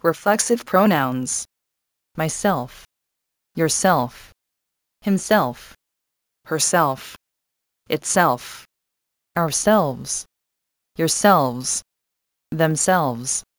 Reflexive pronouns. Myself, yourself, himself, herself, itself, ourselves, yourselves, themselves.